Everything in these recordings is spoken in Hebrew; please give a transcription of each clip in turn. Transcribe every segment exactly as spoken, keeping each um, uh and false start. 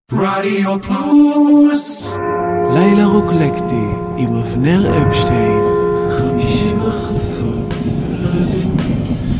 רדיו פלוס לילה רוקלקטי עם אבנר אפשטיין חמישי בחצות ברדיו פלוס.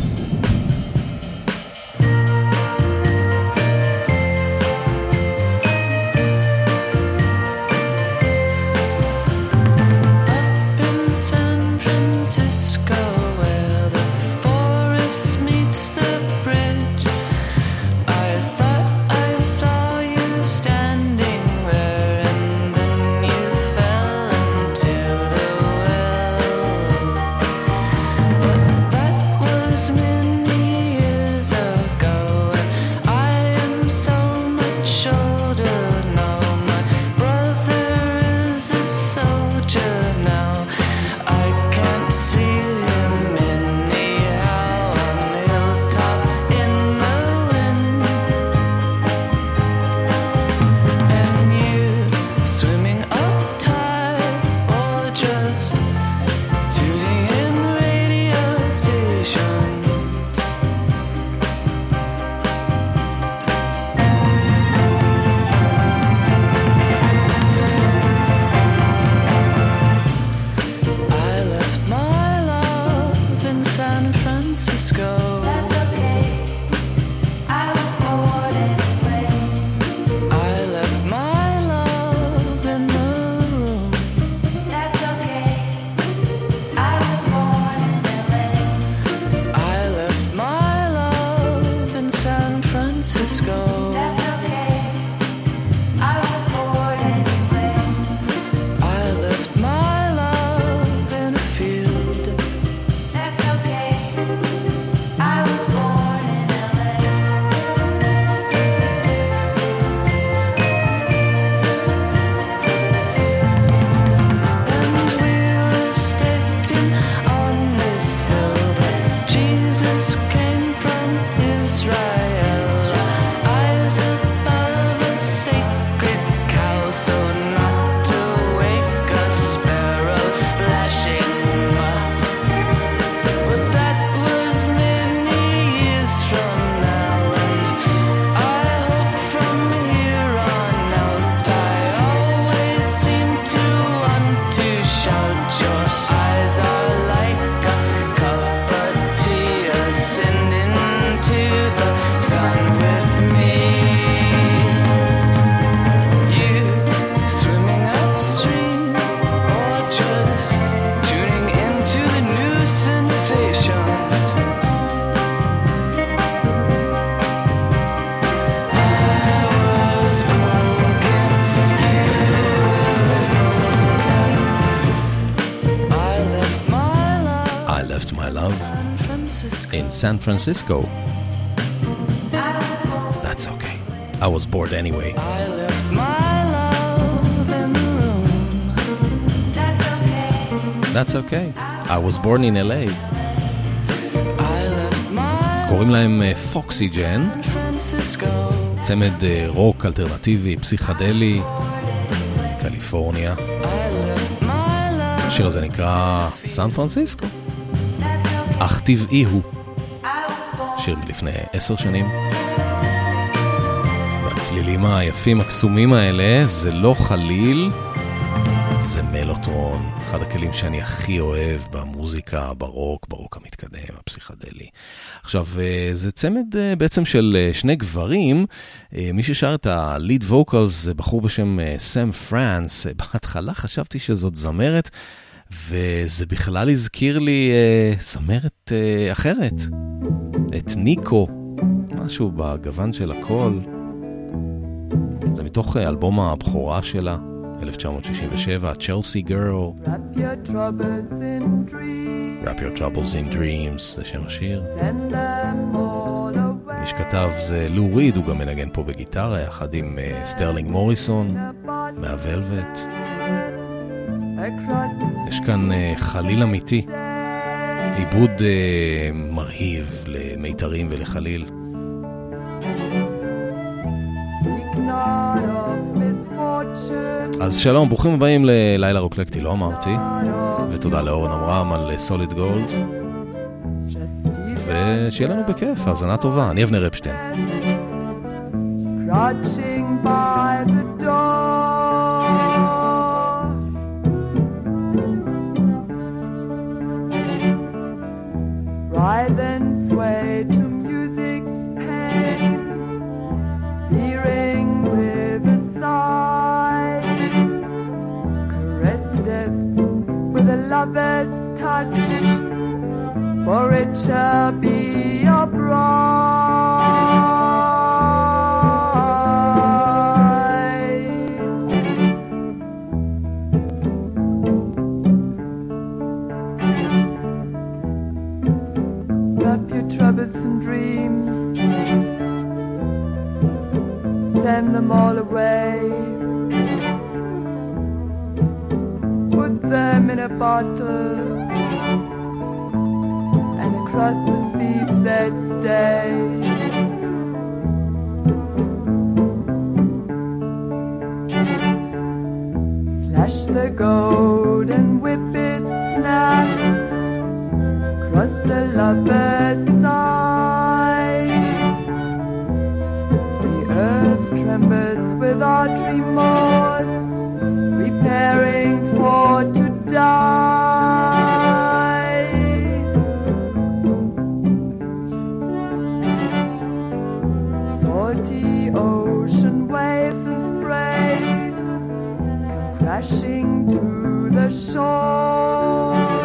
San Francisco. That's okay. I was bored anyway. I left my love in the room. That's okay. That's okay. I was born in L A. I left my קוראים להם פוקסיג'ן. San Francisco. צמד רוק אלטרנטיבי, פסיכדלי, קליפורניה. I left my love. השיר הזה נקרא סן פרנסיסקו. אך טבעי הוא. שיר מלפני עשר שנים. והצלילים היפים הקסומים האלה זה לא חליל, זה מלוטרון, אחד הכלים שאני הכי אוהב במוזיקה, ברוק, ברוק המתקדם, הפסיכדלי. עכשיו, זה צמד בעצם של שני גברים, מי ששר את הליד ווקלס זה בחור בשם סם פרנס. בהתחלה חשבתי שזאת זמרת, וזה בכלל הזכיר לי אה, זמרת אה, אחרת, את ניקו, משהו בגוון של הכל. זה מתוך אה, אלבום הבכורה שלה, אלף תשע מאות שישים ושבע, Chelsea Girl. Wrap your troubles in dreams. Wrap your troubles in dreams, זה שם השיר. Send them all away. מי שכתב זה לו ריד, הוא גם מנגן פה בגיטרה, יחד עם אה, סטרלינג מוריסון, מהוולווט. יש כאן uh, חליל אמיתי, עיבוד uh, מרהיב למיתרים ולחליל. אז שלום, ברוכים הבאים ללילה רוקלקטי, לא אמרתי, ותודה לאורן אמרם על סוליד גולד, ושיהיה לנו בכיף, האזנה טובה. אני אבנר אפשטיין. Crouching by lover's touch, for it shall be your bride. Wrap your troubles and dreams, send them all away. Put them in a bottle, and across the seas they'd stay. Slash the gold and whip it snaps across the lover's sides. The earth trembles without remorse, preparing for to die. Salty ocean waves and sprays come crashing to the shore.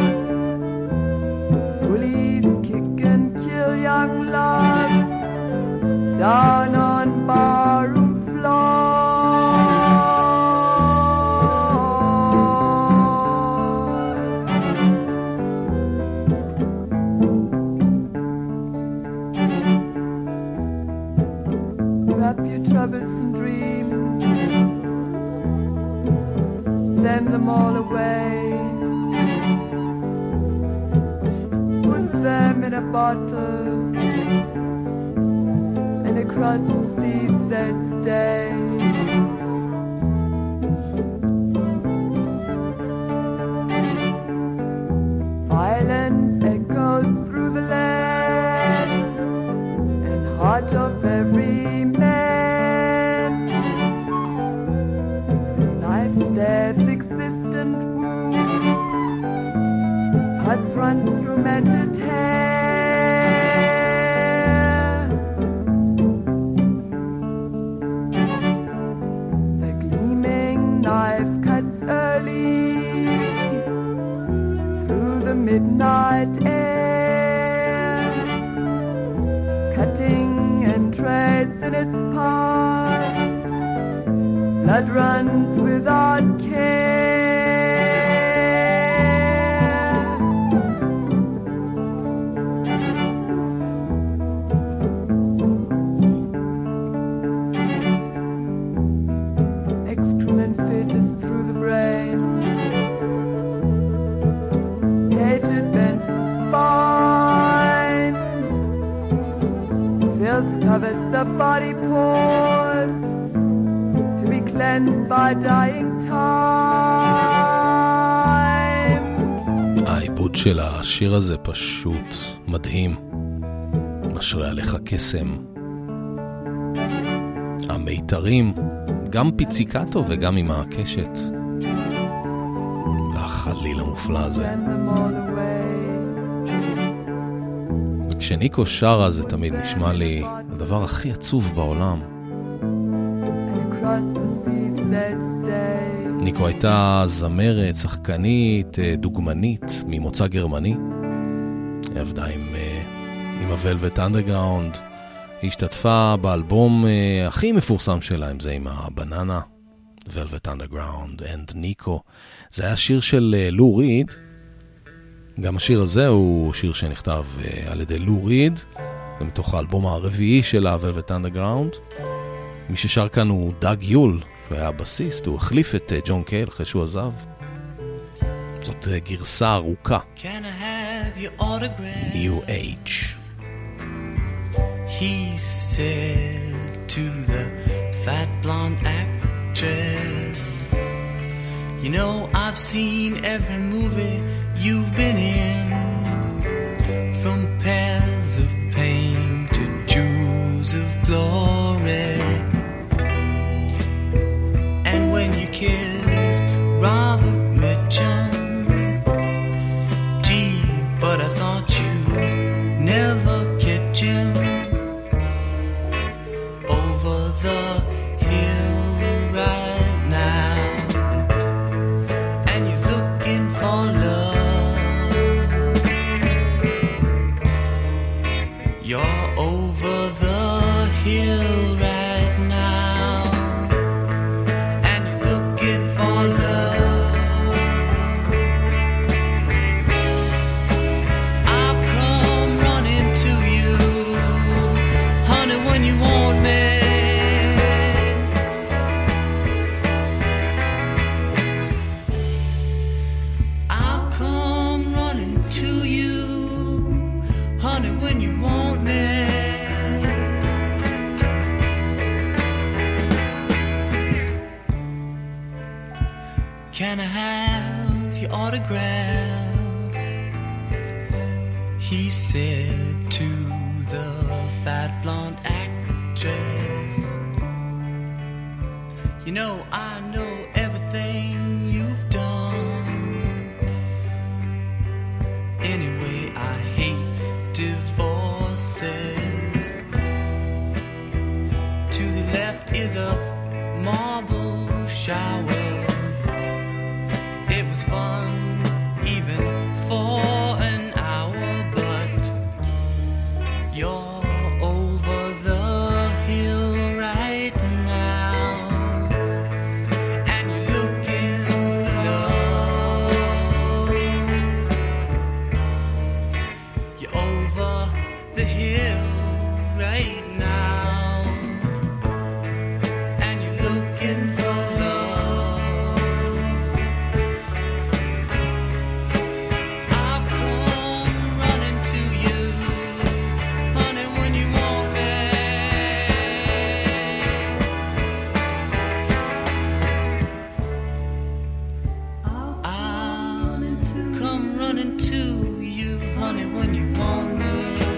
Bullies kick and kill young loves down on barroom floors. Wrap your troubles and dreams, send them all away. Put them in a bottle, and across the seas they'll stay. Violence echoes through the land and heart of every man. The knife stabs existent wounds, pus runs through matted hair. The gleaming knife cuts early through the midnight air, cutting and treads in its path. Blood runs without care. Excrement filters through the brain. Hatred bends the spine. Filth covers the body pores, to be cleansed by dying time. העיבוד של השיר הזה פשוט מדהים. משרה עליך קסם. המיתרים, גם פיציקטו וגם עם הקשת. והחליל המופלא הזה. Send them all away. וכשניקו שרה זה תמיד נשמע לי הדבר הכי עצוב בעולם. And across the seas they'd stay. ניקו הייתה זמרת, שחקנית, דוגמנית ממוצא גרמני. היא עבדה עם, עם ה-Velvet Underground. היא השתתפה באלבום הכי מפורסם שלה, עם זה עם הבננה, Velvet Underground and ניקו. זה היה שיר של לו ריד. גם השיר הזה הוא שיר שנכתב על ידי לו ריד. זה מתוך האלבום הרביעי של ה-Velvet Underground. מי ששר כאן הוא דאג יול, שהוא היה הבסיסט, הוא החליף את ג'ון קייל אחרי שהוא עזב. זאת גרסה ארוכה. Can I have your autograph? New Age. He said to the fat blonde actress, you know I've seen every movie you've been in, from Pairs of Pain to Jewels of Glory. And when you kissed Robert Mitchum, gee, but I thought you'd never catch him over the hill right now. And you're looking for love can I have your autograph? He said to the fat blonde actress, you know, I know everything you've done. Anyway, I hate divorces. To the left is a marble shower. It was fun even for an hour, but you're over the hill right now, and you're looking for love. You're over the hill right now, and you're looking for love. I'll come running to you, honey, when you want me. I'll come running to you, honey, when you want me.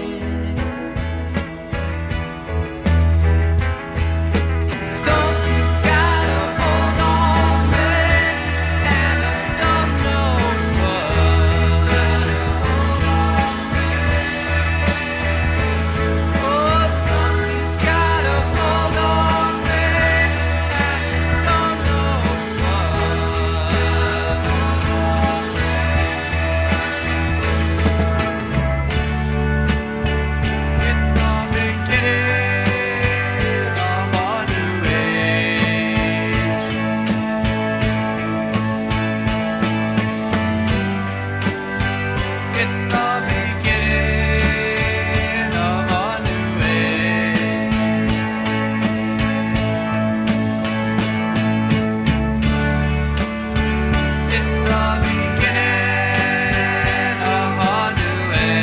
Something's got a hold on me, and I don't know what. Oh, something's got a hold on me, and I don't know what. It's the beginning of a new age. It's the beginning of a new age. It's the beginning of a new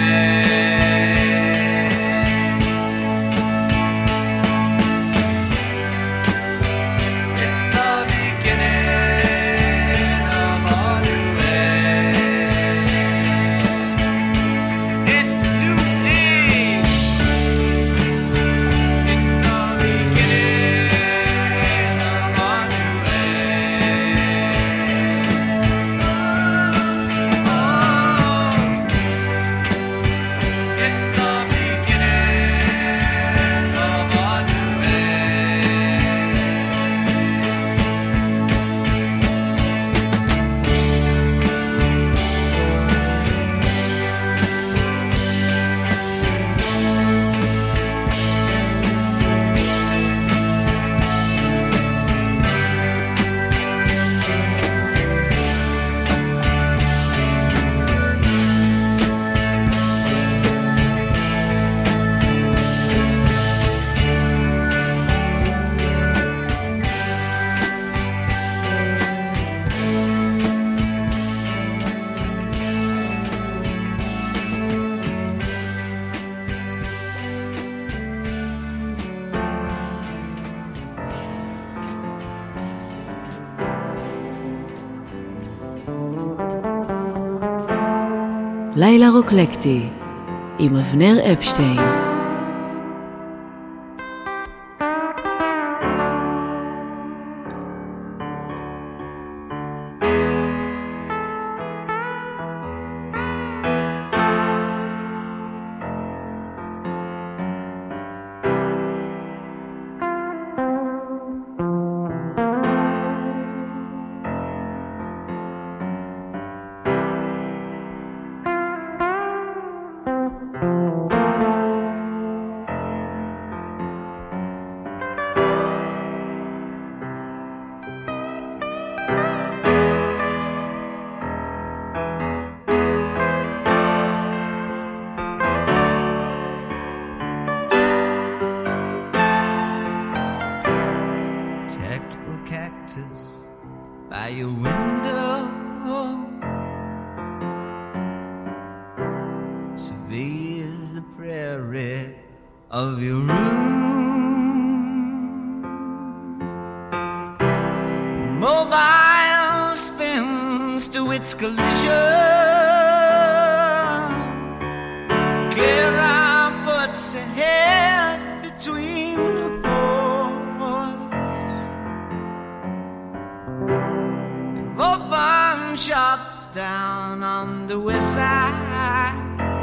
age. It's the beginning of a new age. It's new age. It's the beginning of a new age. Oh, it's the beginning of a new לילה רוקלקטי עם אבנר אפשטיין. Tactful cactus by your window, surveys the prairie of your room. Mobile spin its collision. Clear out puts ahead between the poles. Open shops down on the west side.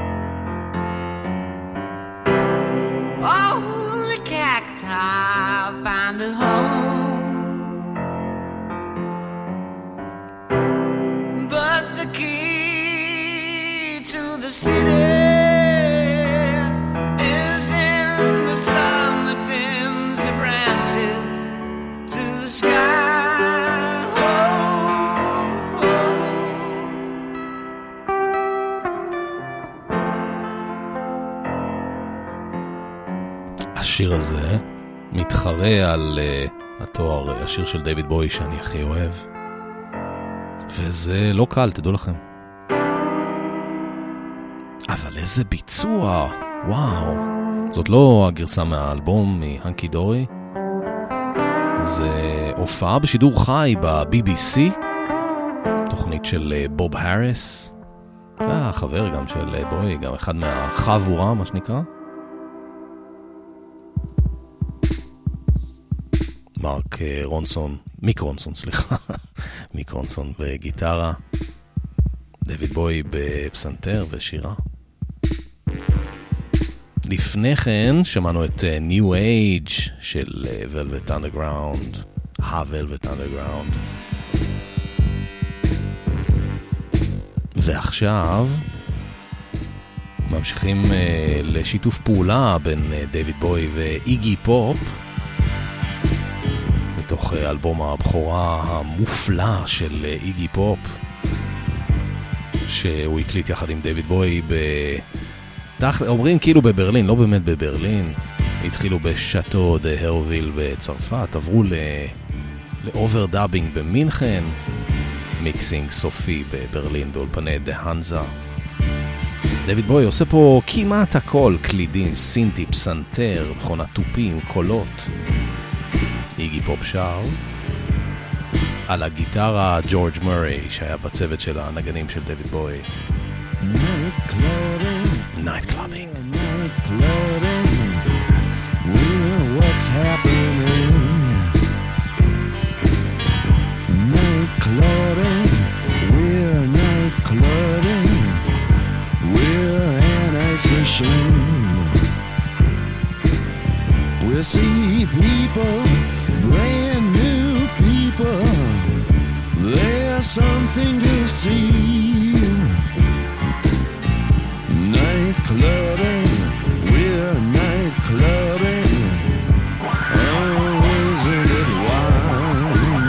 All the cacti find a home, but the key to the city is in the sun that pins the branches to the sky. Oh, oh. השיר הזה מתחרה על uh, התואר, השיר של דיוויד בוי שאני הכי אוהב, וזה לא קל, תדעו לכם. אבל איזה ביצוע, וואו. זאת לא הגרסה מהאלבום מהנקי דורי, זה הופעה בשידור חי ב-בי בי סי, תוכנית של uh, בוב הריס, אה, חבר גם של uh, בוי, גם אחד מהחבורה, מה שנקרא. מרק רונסון, מיק רונסון, סליחה, מיק רונסון בגיטרה, דיוויד בוי בפסנתר ושירה. לפני כן שמענו את New Age של Velvet Underground, ה-Velvet Underground. ועכשיו ממשיכים לשיתוף פעולה בין דיוויד בוי ואיגי פופ, מתוך אלבום הבכורה המופלא של איגי פופ, שהוא הקליט יחד עם דיוויד בוי ב... אומרים כאילו בברלין, לא באמת בברלין. התחילו בשאטו דה הרוויל בצרפת, עברו ל... לאוברדאבינג במינכן, מיקסינג סופי בברלין באולפני דה הנזה. דיוויד בוי עושה פה כמעט הכל, קלידים, סינטי, פסנתר, מכונת טופים, קולות. איגי פופ שר על הגיטרה ג'ורג' מורי שהיה בצוות של הנגנים של דיוויד בוי. Night clubbing, Night clubbing, night clubbing, we're what's happening. Night clubbing, we're night clubbing, we're an ice machine. We'll see people, brand new people, there's something to see. Night clubbing, we're night clubbing, oh, isn't it wild?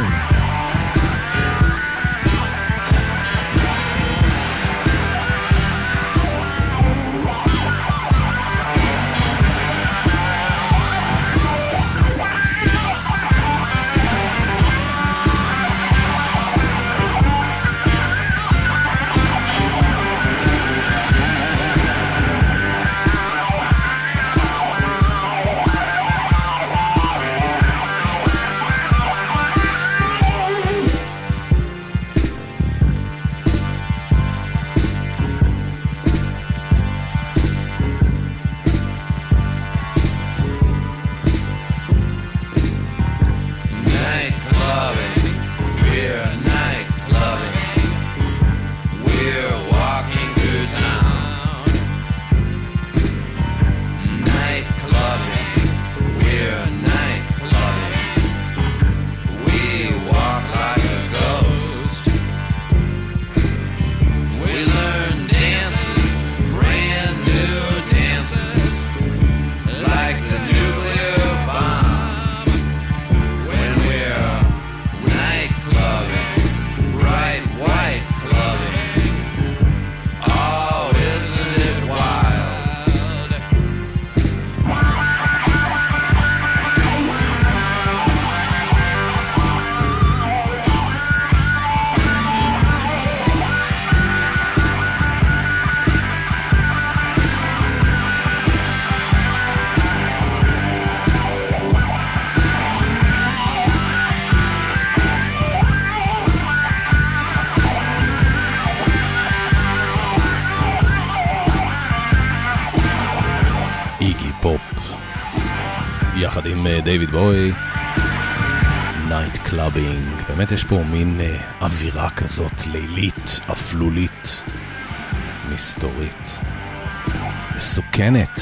יחד עם דיוויד בוי, נייט קלאבינג. באמת יש פה מין uh, אווירה כזאת לילית, אפלולית, מסתורית, מסוכנת.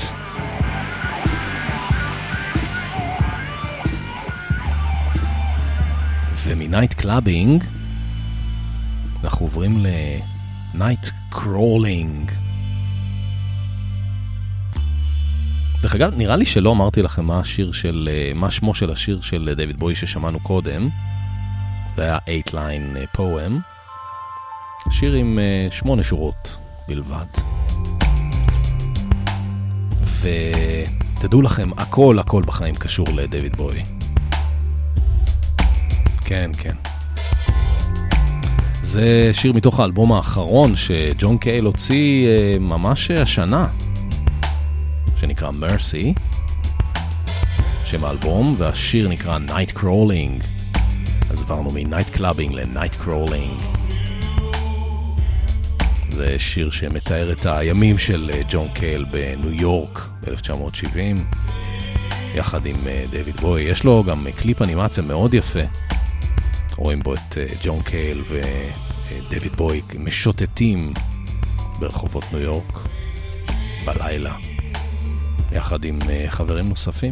ומנייט קלאבינג אנחנו עוברים לנייט קרולינג. דרך אגב, נראה לי שלא אמרתי לכם מה השיר של, מה שמו של השיר של דיוויד בוי ששמענו קודם. זה היה eight line poem. שיר עם שמונה שורות בלבד. ותדעו לכם, הכל הכל בחיים קשור לדיוויד בוי. כן, כן. זה שיר מתוך האלבום האחרון שג'ון קייל הוציא ממש השנה, שנקרא Mercy, שם האלבום, והשיר נקרא Night Crawling. אז עברנו מ-Night Clubbing ל-Night Crawling. זה שיר שמתאר את הימים של ג'ון קייל בניו יורק ב-אלף תשע מאות שבעים, יחד עם דיוויד בוי. יש לו גם קליפ אנימציה מאוד יפה. רואים בו את ג'ון קייל ודייוויד בוי משוטטים ברחובות ניו יורק בלילה, יחד עם חברים נוספים.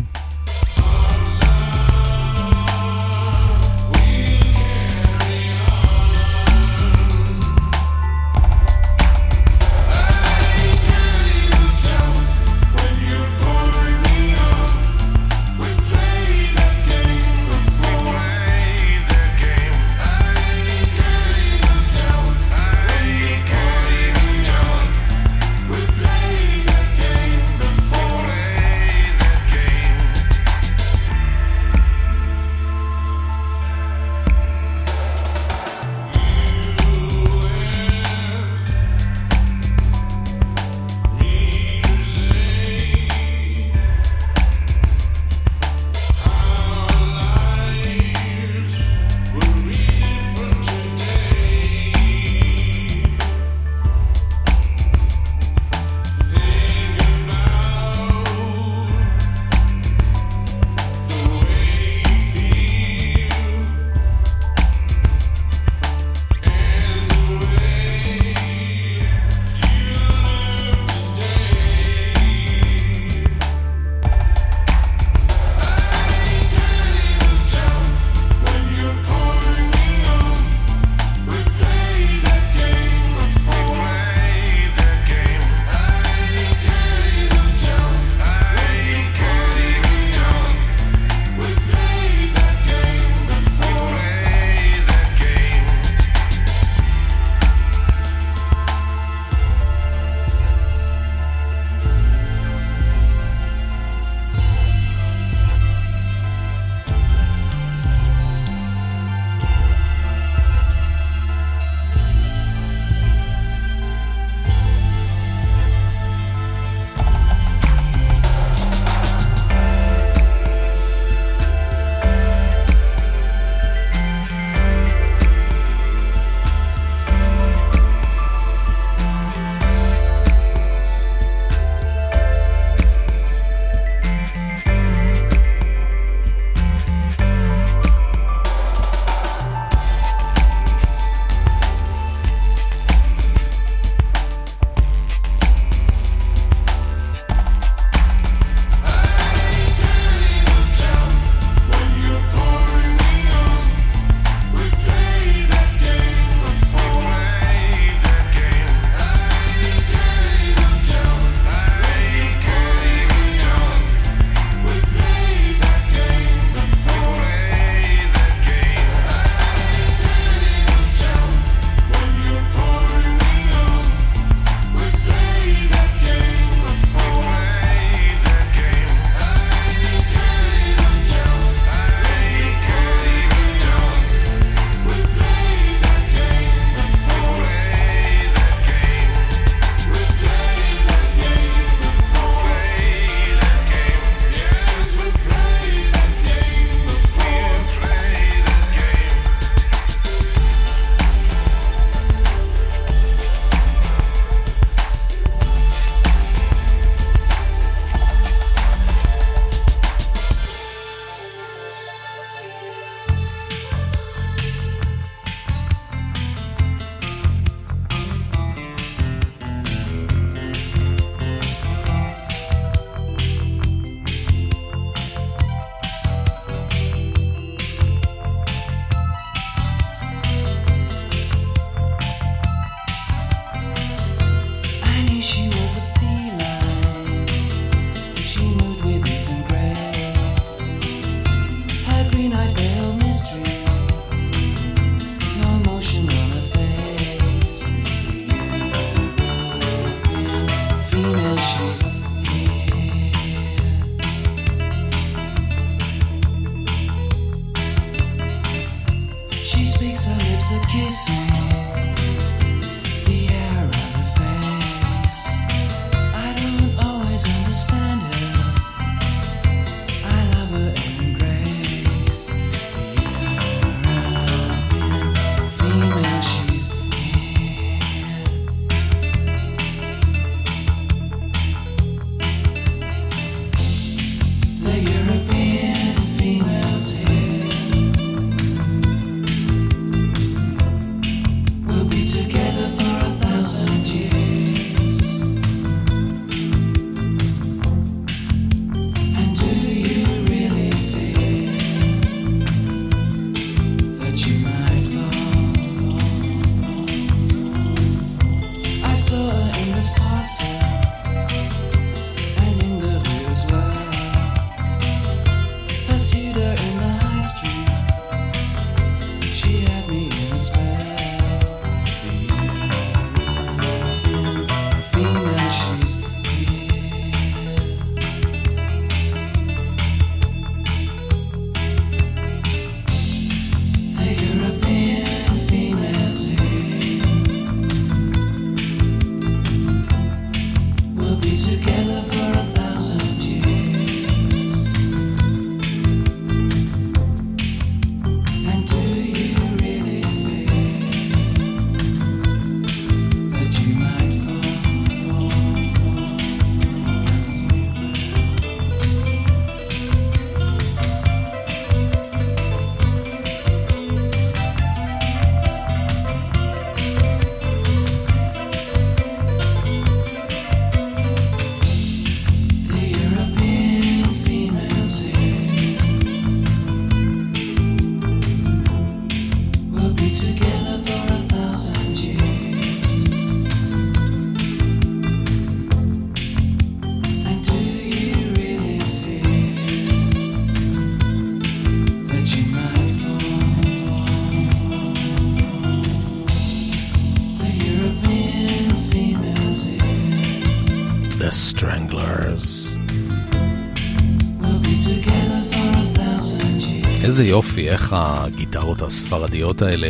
איזה יופי, איך הגיטרות הספרדיות האלה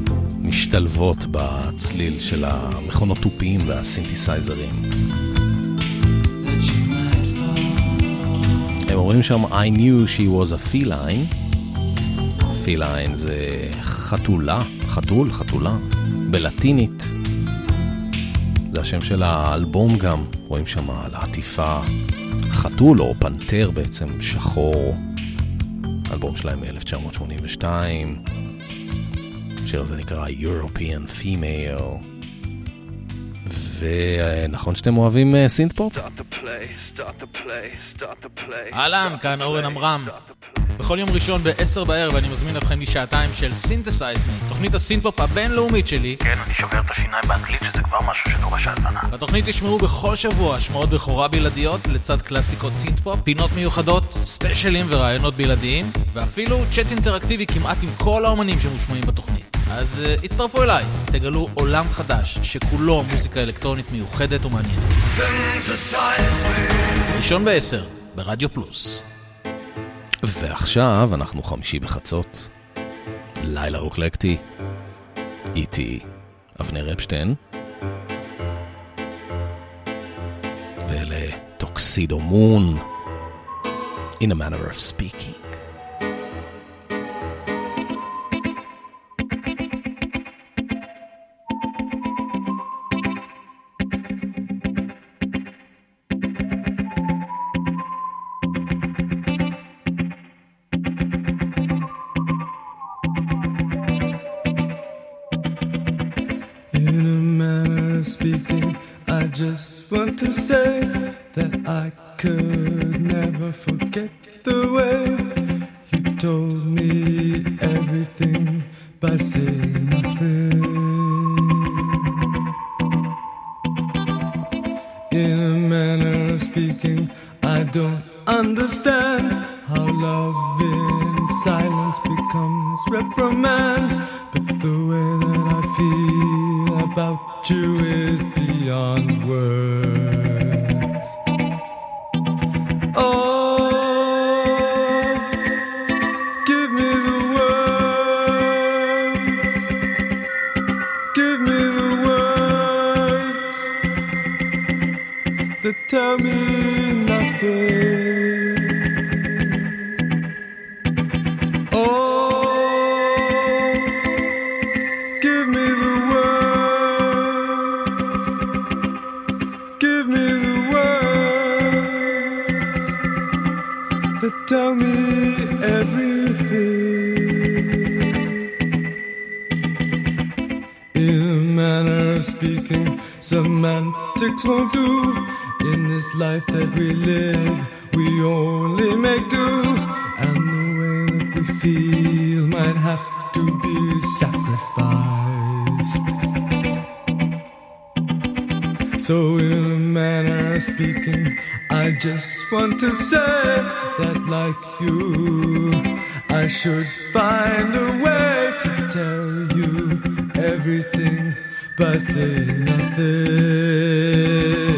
משתלבות בצליל של המכונות טופיים והסינתסייזרים. הם אומרים שם I knew she was a feline. feline זה חתולה, חתול, חתולה, בלטינית. זה השם של האלבום גם, רואים שם על העטיפה חתול או פנתר בעצם, שחור. אלבום שלהם מ-אלף תשע מאות שמונים ושתיים. השיר הזה נקרא European Female. ונכון שאתם אוהבים סינט פופ? אהלן, כאן אורן אמרם. בכל יום ראשון ב-עשר בערב אני מזמין אתכם לשעתיים של Synthesize Me, תוכנית הסינט-פופ הבינלאומית שלי. כן, אני שובר את השיניים באנגלית שזה כבר משהו שדורש האזנה. בתוכנית תשמעו בכל שבוע השמעות בכורה בלעדיות לצד קלאסיקות סינט-פופ, פינות מיוחדות, ספיישלים ורעיונות בלעדיים, ואפילו צ'אט אינטראקטיבי כמעט עם כל האומנים שמושמעים בתוכנית. אז uh, הצטרפו אליי, תגלו עולם חדש שכולו מוזיקה אלקטרונית מיוחדת ומעניינת. ראשון בעשר, ברדיו פלוס. ועכשיו אנחנו חמישי בחצות, לילה רוקלקטי, איתי אבנר אפשטיין, ואלה טוקסידו מון, in a manner of speaking. Just want to say that I could never forget the way you told me everything by saying nothing. In a manner of speaking, I don't understand how love in silence becomes reprimand, but the way that I feel about you is beyond words. Oh, give me the words tell me nothing. Oh, give me the words, give me the words that tell me everything. In a manner of speaking, semantics won't do. In this life that we live, we only make do. And the way that we feel might have to be sacrificed. So in a manner of speaking, I just want to say that like you, I should find a way to tell you everything by saying nothing.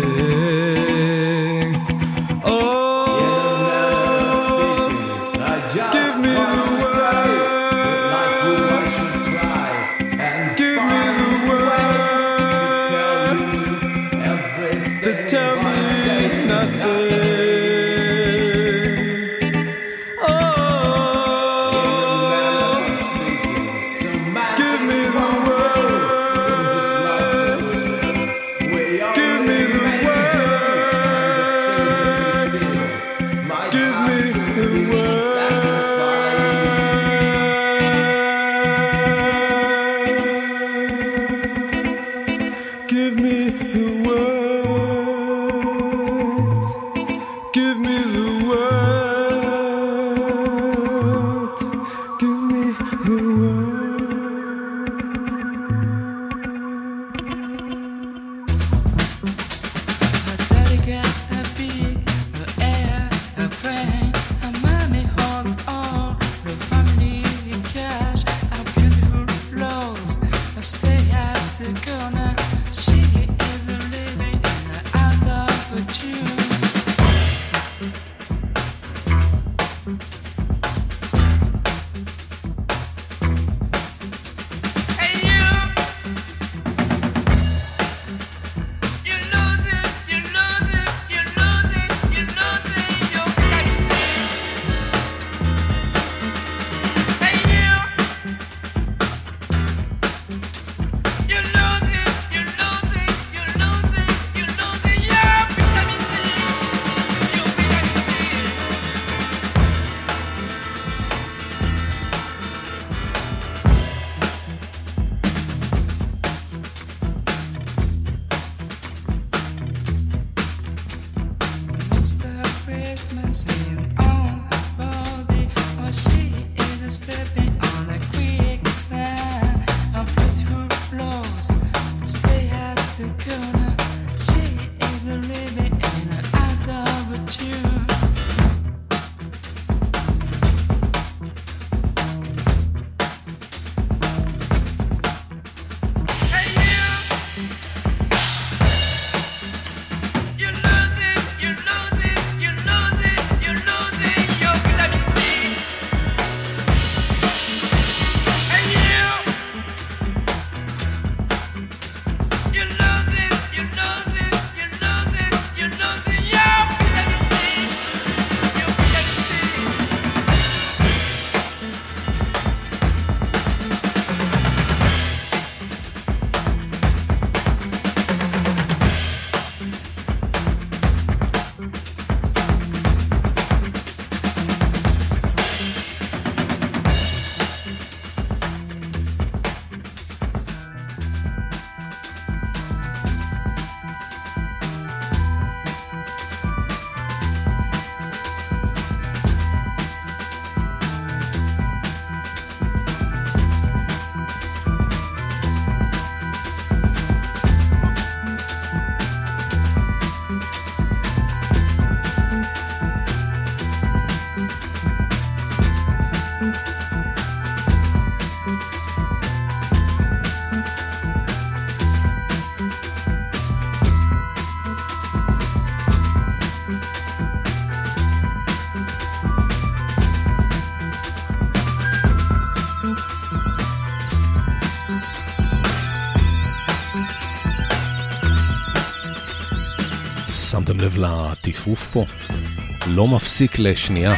שמתם לב לטיפוף פה? לא מפסיק לשנייה.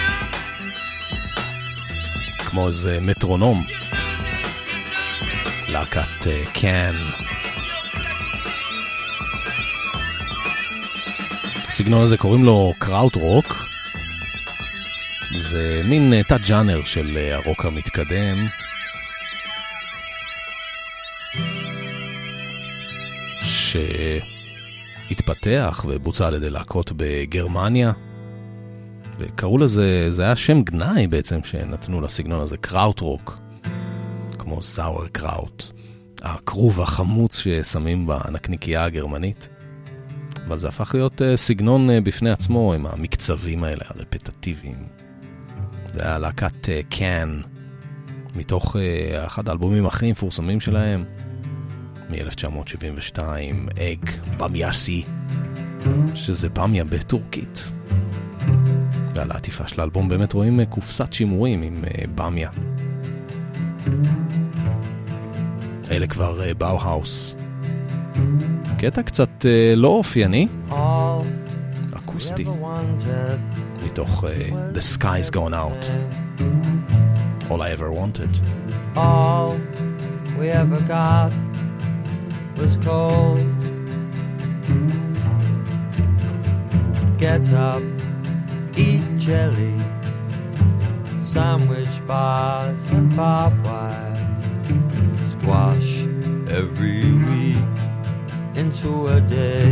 כמו איזה מטרונום. להקת קאן. הסגנון הזה קוראים לו קראוט רוק. זה מין תת ג'אנר של הרוק המתקדם. שהתפתח ובוצע על ידי להקות בגרמניה. וקראו לזה, זה היה שם גנאי בעצם שנתנו לסגנון הזה, קראוט רוק. כמו סאואר קראוט. הכרוב החמוץ ששמים בנקניקייה הגרמנית. אבל זה הפך להיות סגנון בפני עצמו עם המקצבים האלה, הרפטטיביים. זה היה להקת קאן, מתוך אחד האלבומים הכי מפורסמים שלהם, מ-אלף תשע מאות שבעים ושתיים, אג במייסי, שזה במיה בטורקית. ועל העטיפה של האלבום באמת רואים קופסת שימורים עם במיה. אלה כבר באו-האוס. קטע קצת לא אופייני, אקוסטי, מתוך uh, The Sky's Gone Out, All I Ever Wanted. All we ever got was cold. Get up, eat jelly, sandwich bars and barbed wire, squash every week into a day.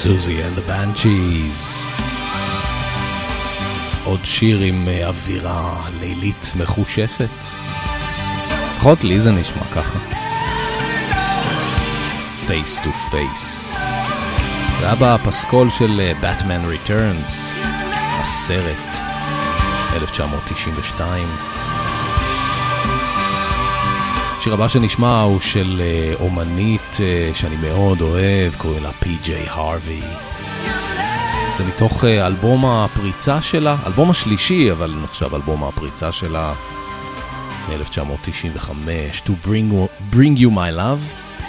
Susie and the Banshees. עוד שיר עם אווירה לילית מחושפת. לפחות לי זה נשמע ככה. Face to Face. זה היה בפסקול של Batman Returns, הסרט, אלף תשע מאות תשעים ושתיים. השיר הבא שנשמע הוא של אומנית שאני מאוד אוהב, קוראים לה פי ג'יי הרווי. זה מתוך אלבום הפריצה שלה, אלבום השלישי, אבל נחשב אלבום הפריצה שלה, מ-אלף תשע מאות תשעים וחמש, To Bring, Bring You My Love.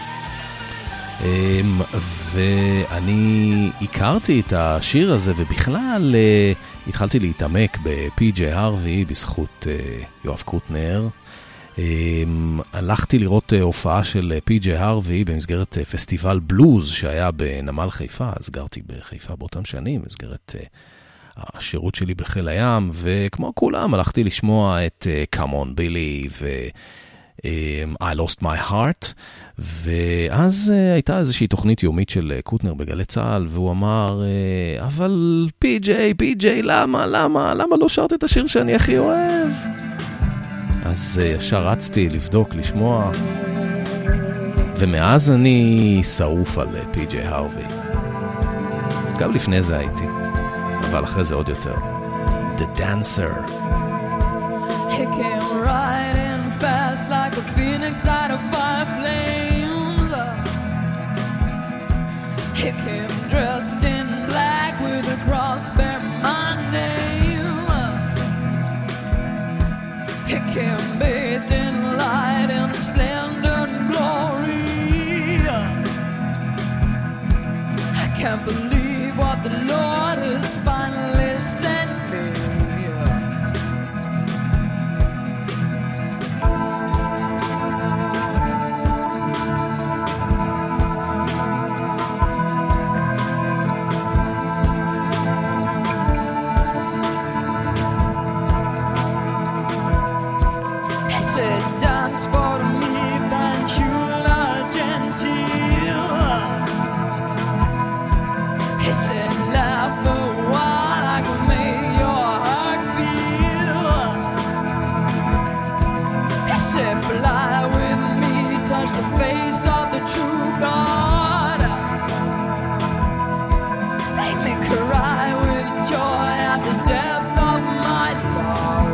Um, ואני הכרתי את השיר הזה, ובכלל uh, התחלתי להתעמק בפי ג'יי הרווי בזכות uh, יואב קוטנר. Um, הלכתי לראות uh, הופעה של uh, פי ג'יי הרווי במסגרת uh, פסטיבל בלוז שהיה בנמל חיפה, אז גרתי בחיפה באותם שנים, במסגרת uh, השירות שלי בחיל הים, וכמו כולם הלכתי לשמוע את uh, Come on Billy ו... Um, I Lost My Heart, ואז uh, הייתה איזושהי תוכנית יומית של uh, קוטנר בגלי צהל, והוא אמר, uh, אבל פי ג'יי, פי ג'יי, למה, למה, למה לא שרת את השיר שאני הכי אוהב? אז uh, ישר רצתי לבדוק, לשמוע, ומאז אני שרוף על uh, פי ג'יי הרווי. גם לפני זה הייתי, אבל אחרי זה עוד יותר. The Dancer. He came right in fast like a phoenix out of fire flames. He came dressed in black with a cross bearing my name. He came bathed in light and splendor and glory. I can't believe what the Lord has finally sent me. Dance for me, thank you, La Gentile. He said, laugh a while, I can make your heart feel. He said, fly with me, touch the face of the true God. Make me cry with joy at the depth of my love.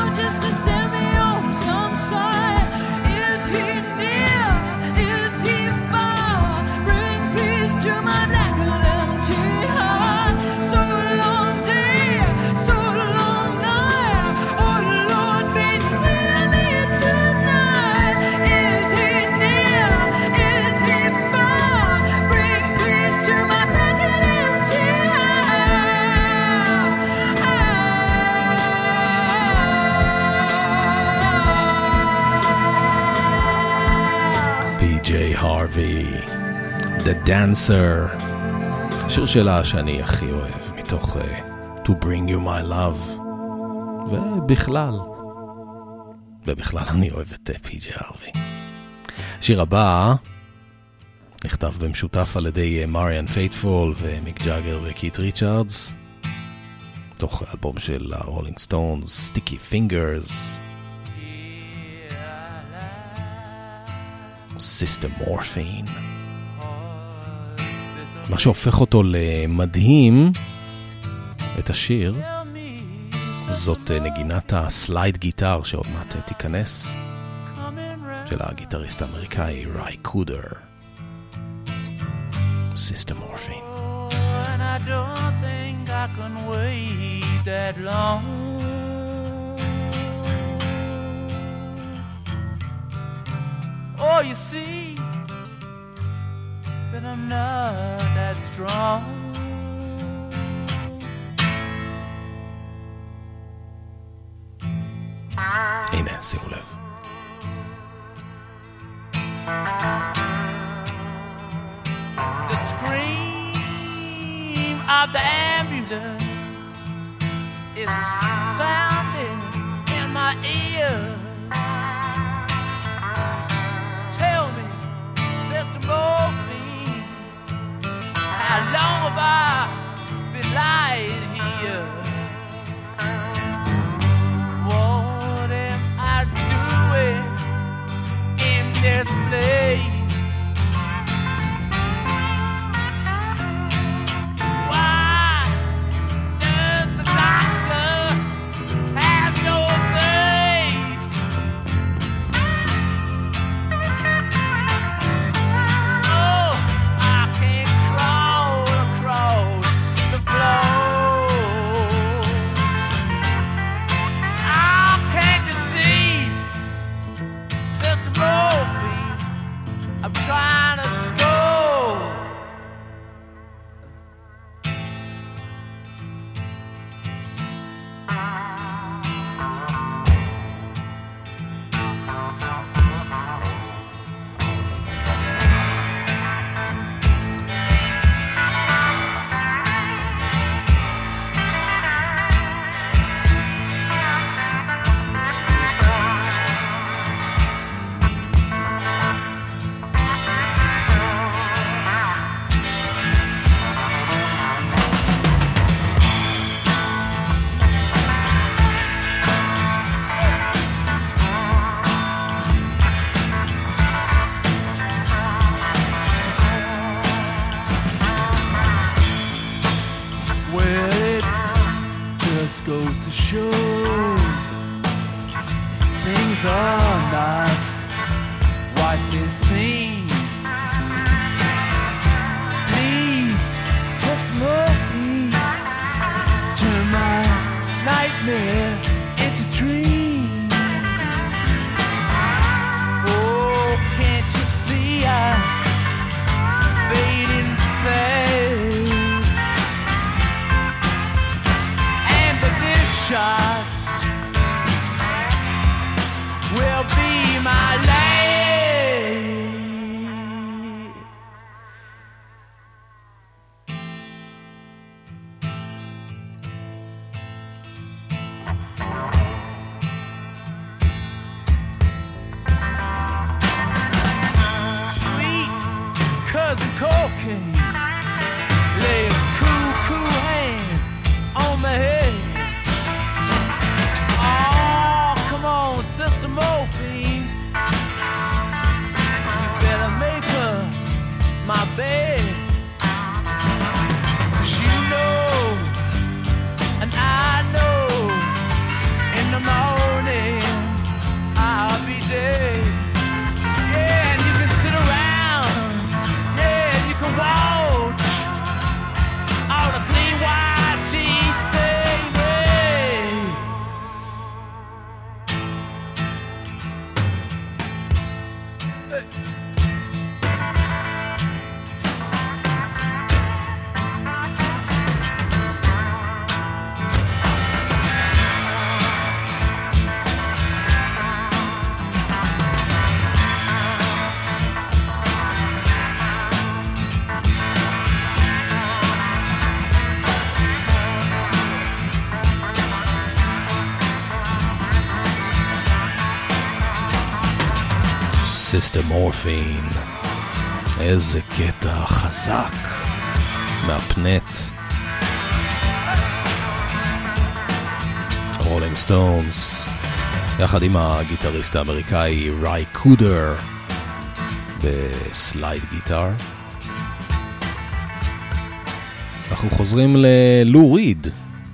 Is he ג'יי הרווי, The Dancer, שיר שלה שאני הכי אוהב מתוך uh, To Bring You My Love, ובכלל, ובכלל אני אוהב את פי ג'יי הרווי. השיר הבא נכתב במשותף על ידי מריאן פייטפול ומיק ג'אגר וקית' ריצ'רדס, תוך אלבום של הרולינג סטונס, Sticky Fingers. System Morphine. מה שהופך אותו למדהים, את השיר, זאת נגינת הסלייד גיטר שעוד מעט תיכנס, של הגיטריסט האמריקאי ריי קודר. System Morphine. Oh, and I don't think I can wait that long. Oh, you see that I'm not that strong. הנה, שימו לב. The scream of the ambulance is sounding in my ears. Tell me, Sister Morphine, how long have I been lying here? What am I doing in this place? Sister Morphine. איזה קטע חזק מהפנט. רולינג סטונס יחד עם הגיטריסט האמריקאי ריי קודר בסלייד גיטר. אנחנו חוזרים ללו ריד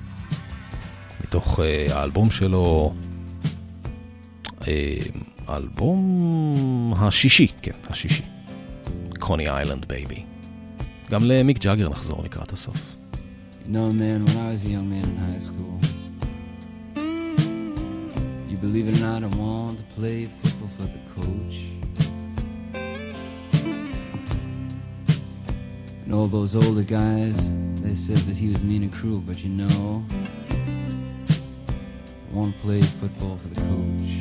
מתוך uh, האלבום שלו, uh, האלבום השישי, כן, השישי, קוני איילנד בייבי. גם למיק ג'אגר נחזור לקראת הסוף. You know, man, when I was a young man in high school, you believe it or not, I wanted to play football for the coach. And all those older guys, they said that he was mean and cruel, but you know, I want to play football for the coach.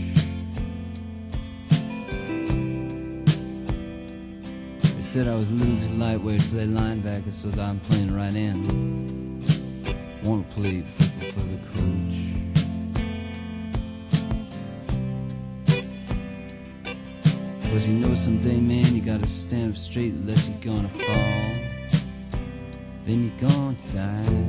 They said I was a little too lightweight to play linebacker, so that I'm playing right end. I want to play football for the coach. Cause you know someday, man, you gotta stand up straight unless you're gonna fall. Then you're gonna die.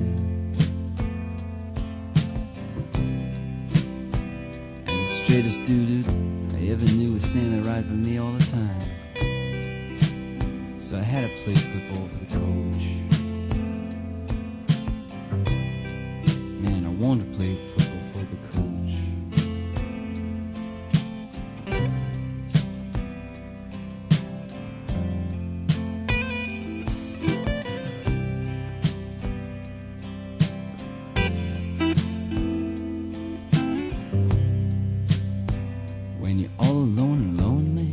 And the straightest dude I ever knew was standing right by me all the time. So I had to play football for the coach. Man, I wanted to play football for the coach. When you're all alone and lonely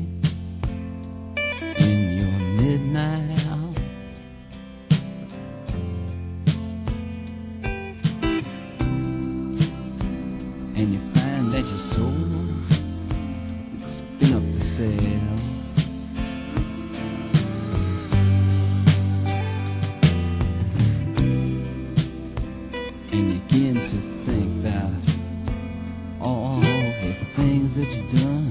in your midnight hour, and you find that your soul has been up for sale, and you begin to think about all the things that you've done.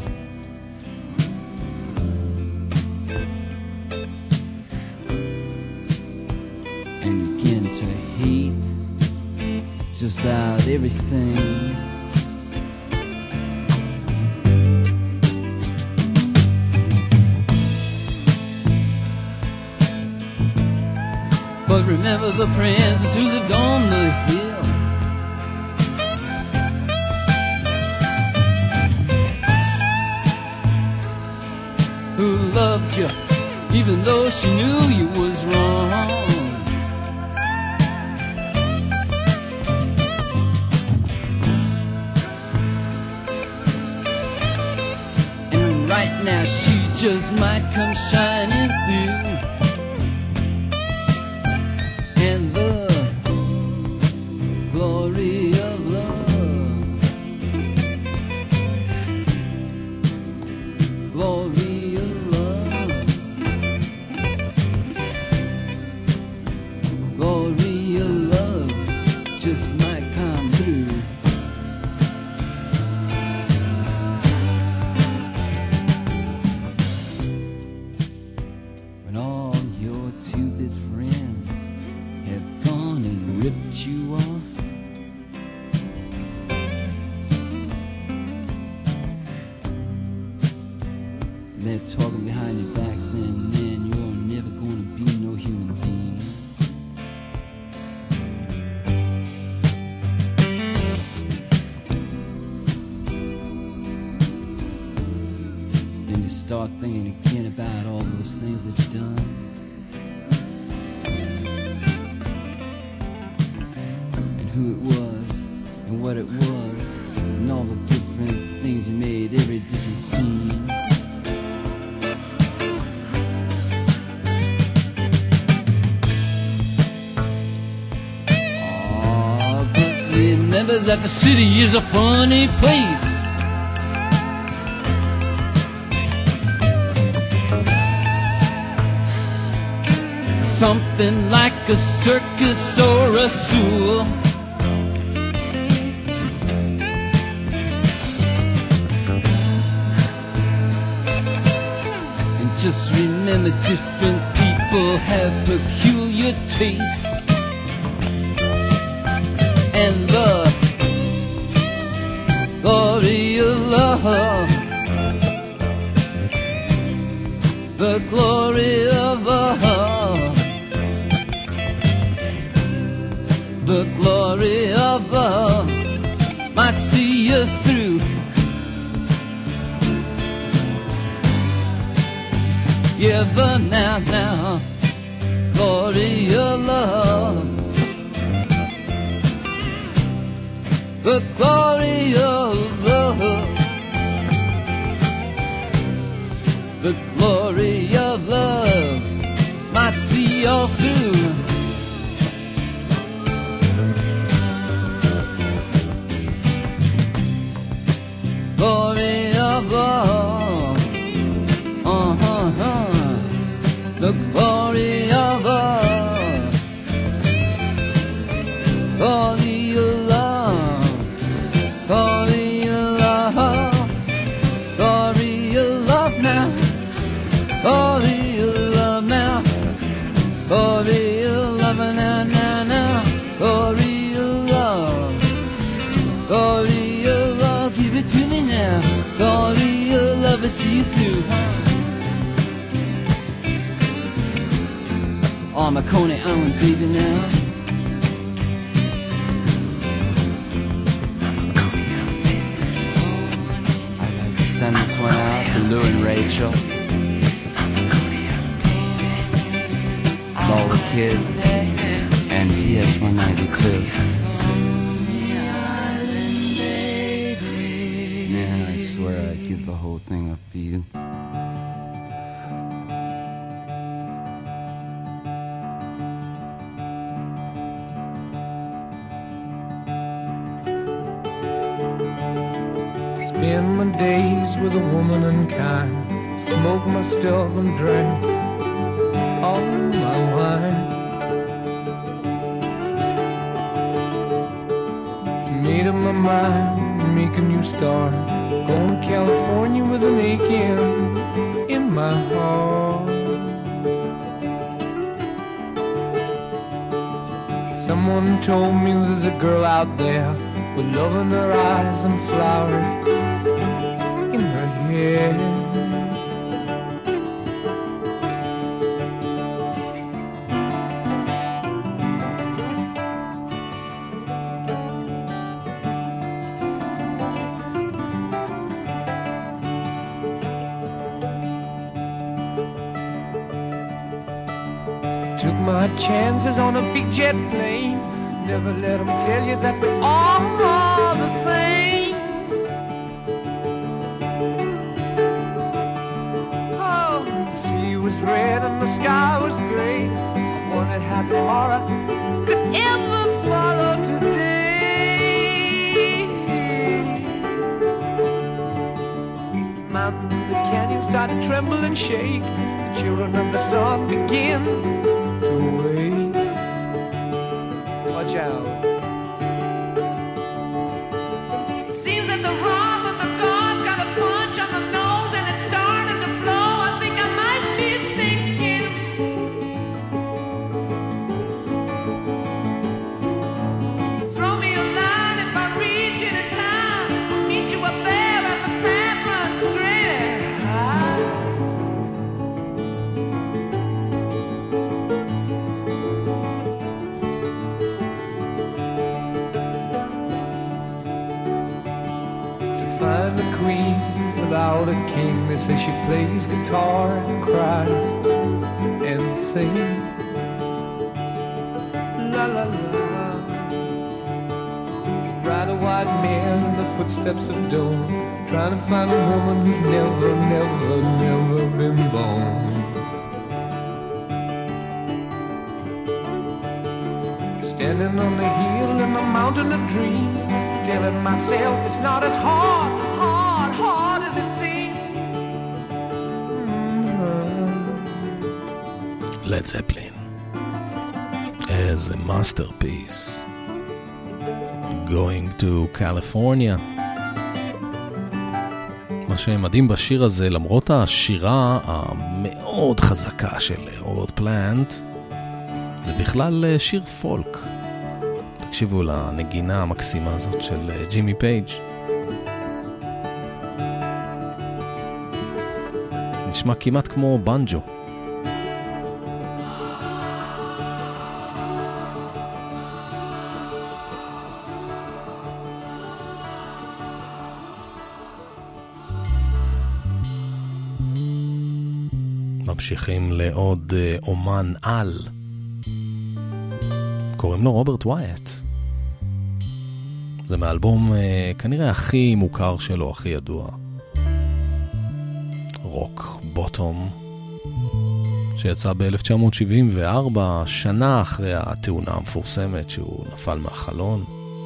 And you begin to hate just about everything. But remember the princess who lived on the hill, who loved you even though she knew you was wrong. And right now she just might come shining through. And the glory of love, glory of love, glory of love just might come through. When all your two-bit friends have gone and ripped you off, they're talking behind your back saying, man, you're never gonna be no human being. And you start thinking again about all those things that you've done. Who it was and what it was and all the different things you made, every different scene. Oh, but remember that the city is a funny place. Something like a circus or a zoo. And just remember, different people have peculiar tastes. And the glory of love, the glory of love, the glory of love might see you through. Yeah, but now, now, glory of love, the glory of love, the glory of love might see you through. Glory of love, uh-huh, uh, the glory of love, glory of love, glory of love, glory of love now, glory of love now, glory of love now, now, now, glory of love, glory of love, give it to me now, glory of love, I see you through. Oh, my Coney Island baby now. I'd like to send this one out to Lou and Rachel, Lola Kid, and E S one ninety-two. Man, I swear I'd give the whole thing up for you. Spend my days with a woman unkind, smoke my stuff and drink all my wine. Made up my mind, make a new start, going to California with an aching in my heart. Someone told me there's a girl out there with love in her eyes and flowers in her hair. Took my chances on a big jet plane. Never let them tell you that we're all the same. Oh, the sea was red and the sky was gray. I wondered how tomorrow could ever follow today. Mountains in the canyon start to tremble and shake. The children of the sun begin to wake. Watch out. It seems that the wrong of the gods got a punch on the nose and it's starting to flow. I think I might be sinking. Throw me a line if I reach you in time. I'll meet you up there and the path runs straight and high. Find the queen without a king. They say she plays guitar and cries and sings. La la la. Ride a white man in the footsteps of dawn, trying to find a woman who's never, never, never been born. Standing on the hill in the mountain of dreams, telling myself it's not as hard, hard, hard as it seems. Mm-hmm. Led Zeppelin as a masterpiece. Going to California. מה מה שמדהים בשיר הזה, למרות השירה המאוד חזקה של רוברט פלנט, זה בכלל שיר פולק. תקשיבו לנגינה המקסימה הזאת של ג'ימי פייג'. נשמע כמעט כמו בנג'ו. ממשיכים לעוד אומן על, קוראים לו רוברט ווייט. זה מאלבום כנראה הכי מוכר שלו, הכי ידוע, רוק בוטום, שיצא ב-אלף תשע מאות שבעים וארבע, שנה אחרי התאונה המפורסמת שהוא נפל מהחלון.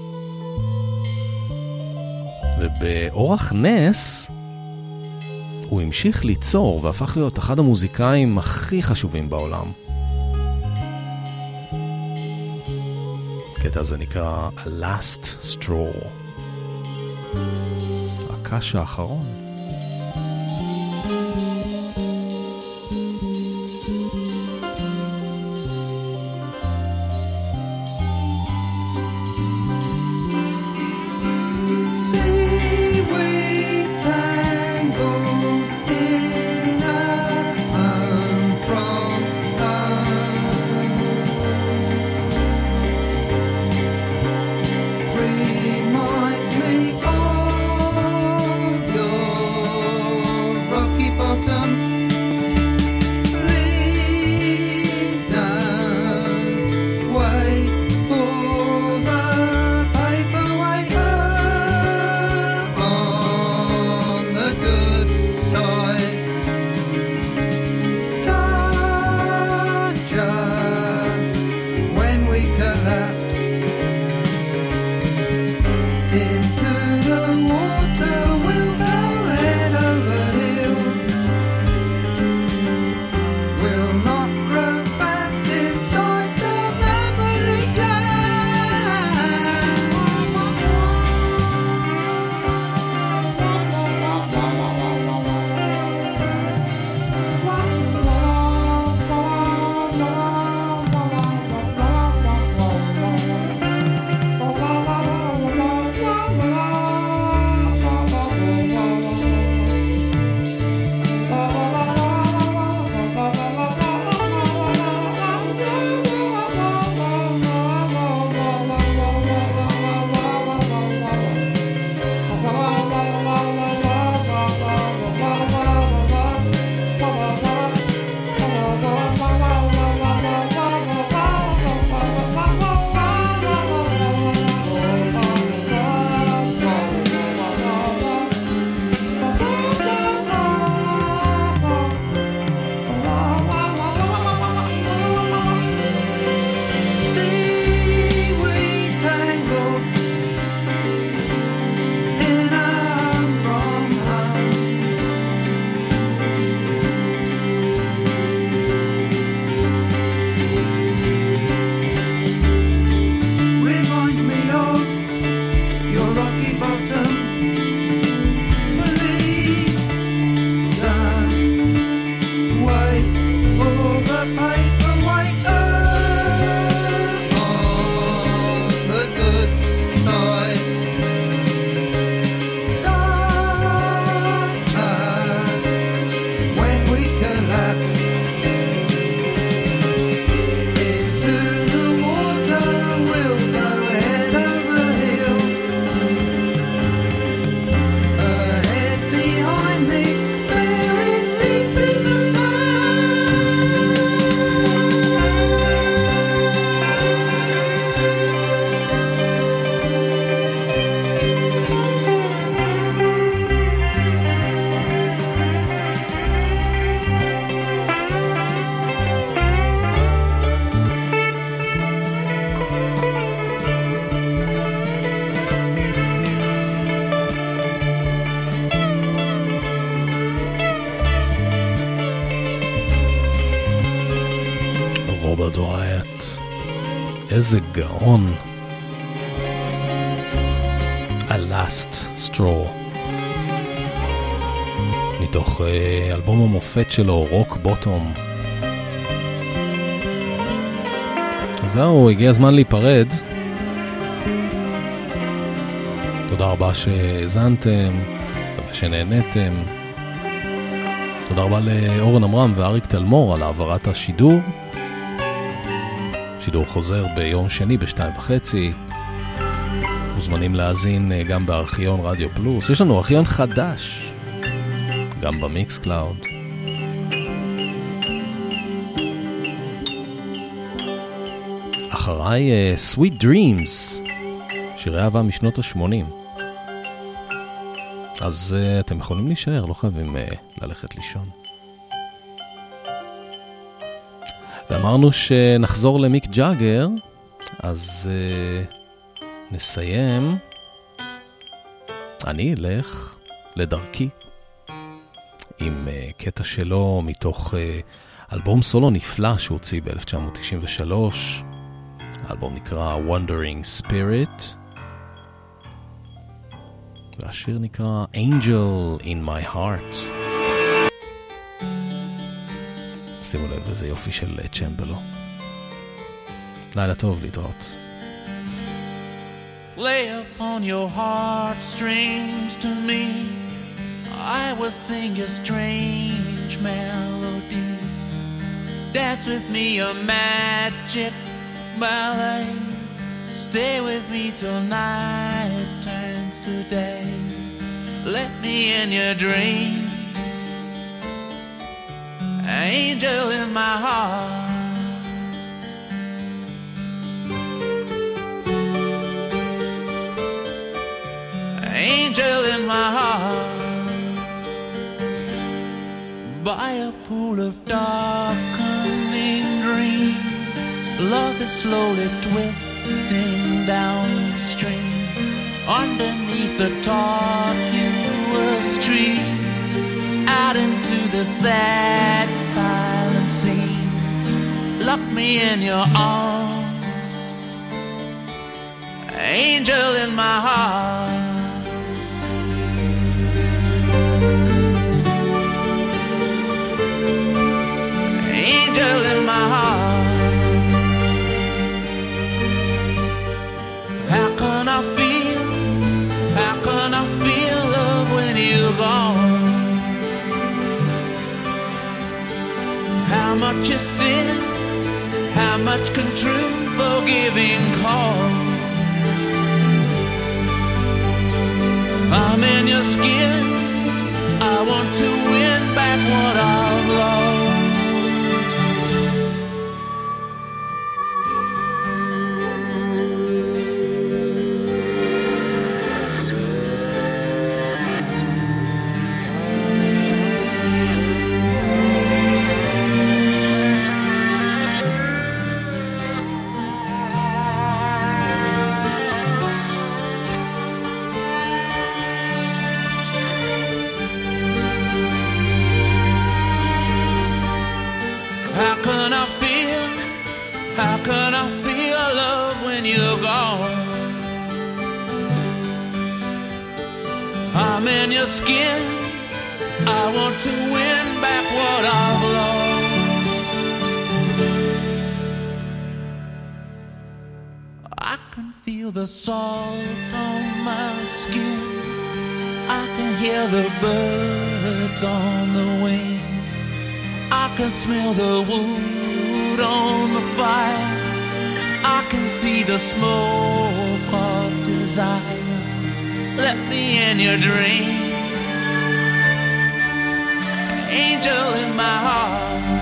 ובאורח נס הוא המשיך ליצור והפך להיות אחד המוזיקאים הכי חשובים בעולם. הקטע הזה נקרא A Last Straw, הקש האחרון. רוברט ווייט, איזה גאון. A Last Straw. מתוך אלבום המופת שלו, רוק בוטום. זהו, הגיע הזמן להיפרד. תודה רבה שהזנתם ושנהנתם. תודה רבה לאורן אמרם ואריק תלמור על העברת השידור. שידור חוזר ביום שני בשתיים וחצי. מוזמנים להאזין גם בארכיון רדיו פלוס. יש לנו ארכיון חדש, גם במיקס קלאוד. אחריי uh, Sweet Dreams, שירי אהבה משנות ה-שמונים. אז uh, אתם יכולים להישאר, לא חייבים uh, ללכת לישון. ואמרנו שנחזור למיק ג'אגר, אז uh, נסיים. אני אלך לדרכי עם uh, קטע שלו מתוך uh, אלבום סולו נפלא שהוציא ב-אלף תשע מאות תשעים ושלוש. האלבום נקרא Wandering Spirit, והשיר נקרא Angel in My Heart. שימו לב, איזה יופי של צ'מבלו. לילה טוב, להתראות. Lay upon your heart strings to me, I will sing your strange melodies. Dance with me a magic ballet. Stay with me till night turns to day. Let me in your dreams, angel in my heart. Angel in my heart. By a pool of darkening dreams, love is slowly twisting downstream. Underneath the tortuous trees, out into the sad silent scenes. Lock me in your arms, angel in my heart. Angel in my heart. How can I feel, how can I feel love when you're gone? How much is sin, how much can true forgiving cause? I'm in your skin, I want to win back what I've lost. I'm in your skin, I want to win back what I've lost. I can feel the salt on my skin, I can hear the birds on the wing, I can smell the wood on the fire, I can see the smoke of desire. Let me in your dream, angel in my heart.